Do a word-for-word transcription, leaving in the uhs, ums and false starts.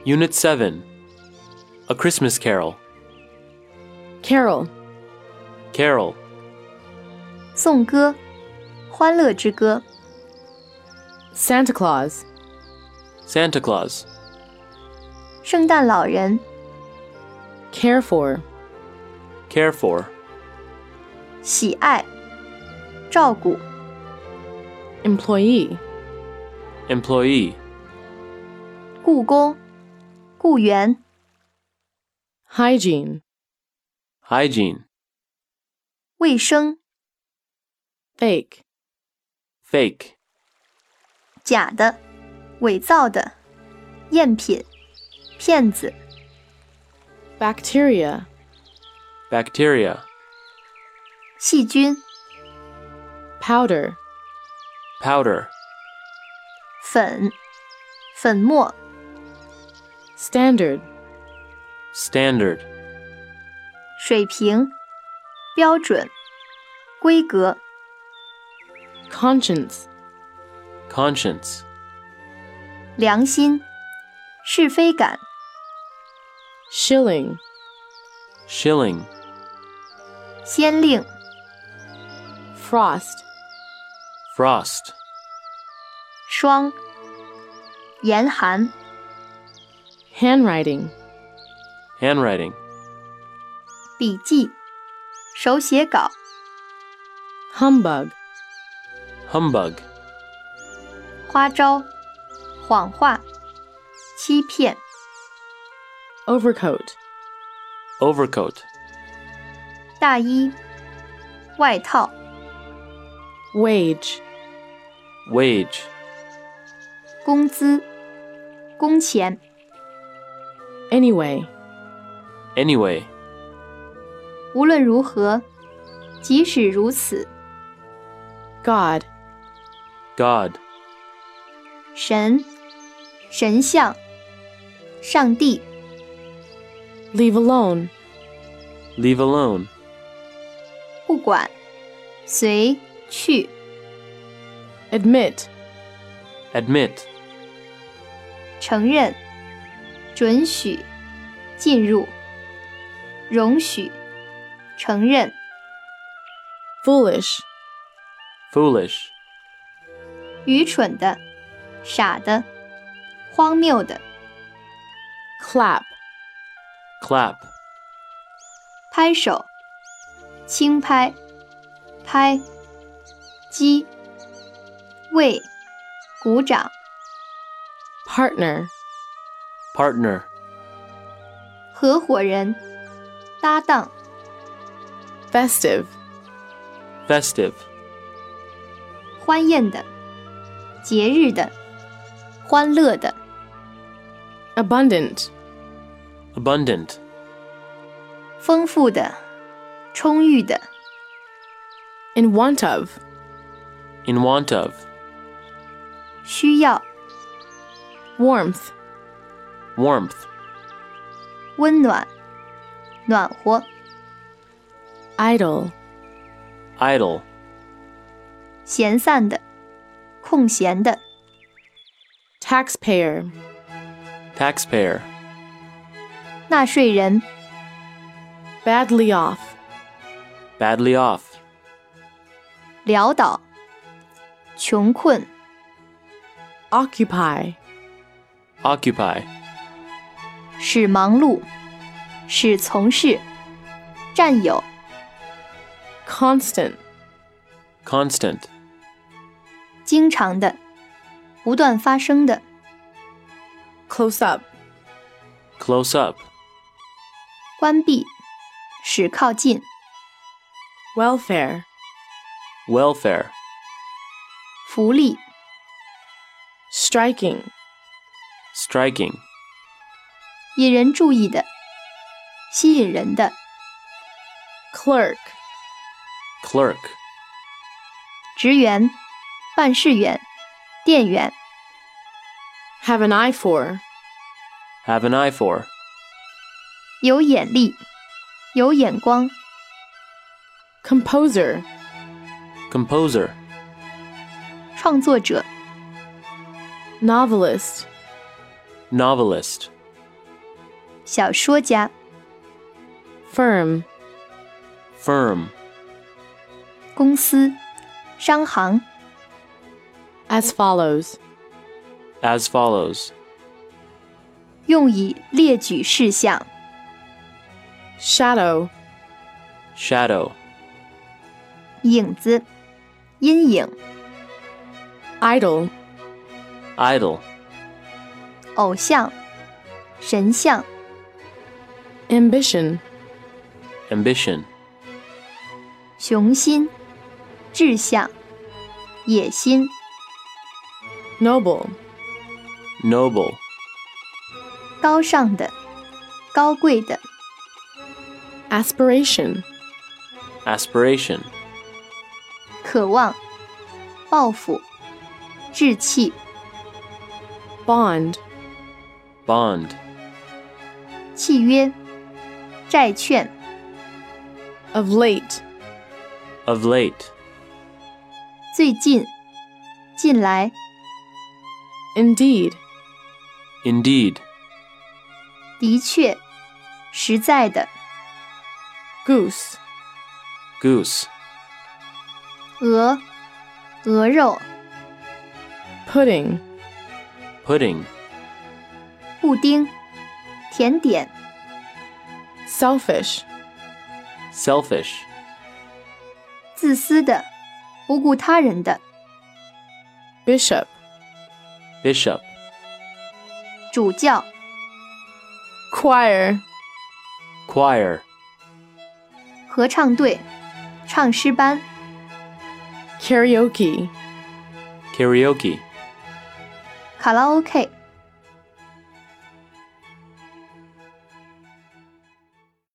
Unit seven. A Christmas Carol. Carol. Carol. 颂歌，欢乐之歌。 Santa Claus. Santa Claus. 圣诞老人。 Care for. Care for. 喜爱，照顾。 Employee. Employee. 雇工，雇员。 Hygiene. Hygiene. 卫生， Fake. Fake. 假的，伪造的，赝品，骗子。 Bacteria. Bacteria. 细菌， Powder. Powder. 粉，粉末。 Standard. Standard. 水平，标准，规格。 Conscience. Conscience. 良心，是非感。 Shilling. Shilling. 先令， Frost. Frost. 霜，严寒。 Handwriting. Handwriting. 笔记，手写稿。 Humbug. Humbug. 花招，谎话，欺骗。 Overcoat. Overcoat. 大衣，外套。 Wage. Wage. 工资，工钱。 Anyway. Anyway. 无论如何，即使如此。 God. God. 神，神像，上帝。 Leave alone. Leave alone. 不管，随去。 Admit. Admit. 承认，准许，进入。容许，承认。 Foolish. Foolish. 愚蠢的，傻的，荒谬的。 Clap. Clap. 拍手，轻拍，拍。击，为，鼓掌。 Partner. Partner. 合伙人，搭档。 Festive. Festive. 欢宴的，节日的，欢乐的。 Abundant. Abundant. 丰富的，充裕的。 In want of. In want of. 需要， Warmth. Warmth. 温暖，暖和。 Idle. Idle. 闲散的，空闲的。 Taxpayer. Taxpayer. 纳税人， Badly off. Badly off. 潦倒，穷困。 Occupy. Occupy. 使忙碌，使从事，占有。 Constant. Constant. 经常的，不断发生的。 Close up. Close up. 关闭，使靠近。 Welfare. Welfare. 福利， Striking. Striking. 引人注意的，吸引人的。 Clerk. Clerk. 职员，办事员，店员。 Have an eye for. Have an eye for. 有眼力，有眼光。 Composer. Composer. 创作者， Novelist. Novelist. 小说家。 Firm. Firm. 公司、商行。 As follows. As follows. 用以列举事项。 Shadow. Shadow. 影子、阴影。 Idol. Idol. 偶像、神像。 Ambition. Ambition. 雄心、志向、野心。 Noble. Noble. 高尚的、高贵的。 Aspiration. Aspiration. 渴望、抱负、志气。 Bond. Bond. 契约、债券。 Of late. Of late. 最近、近来。 Indeed. Indeed. 的确、实在的。 Goose. Goose. 鹅、鹅肉。 Pudding. Pudding. 布丁、甜点。 Selfish. Selfish. 自私的、不顾他人的。 Bishop. Bishop. 主教。 Choir. Choir. 合唱队、唱诗班。 Karaoke. Karaoke. 卡拉 OK。